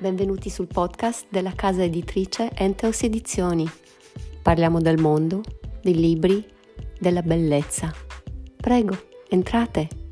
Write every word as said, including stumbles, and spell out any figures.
Benvenuti sul podcast della casa editrice Enteos Edizioni. Parliamo del mondo, dei libri, della bellezza. Prego, entrate!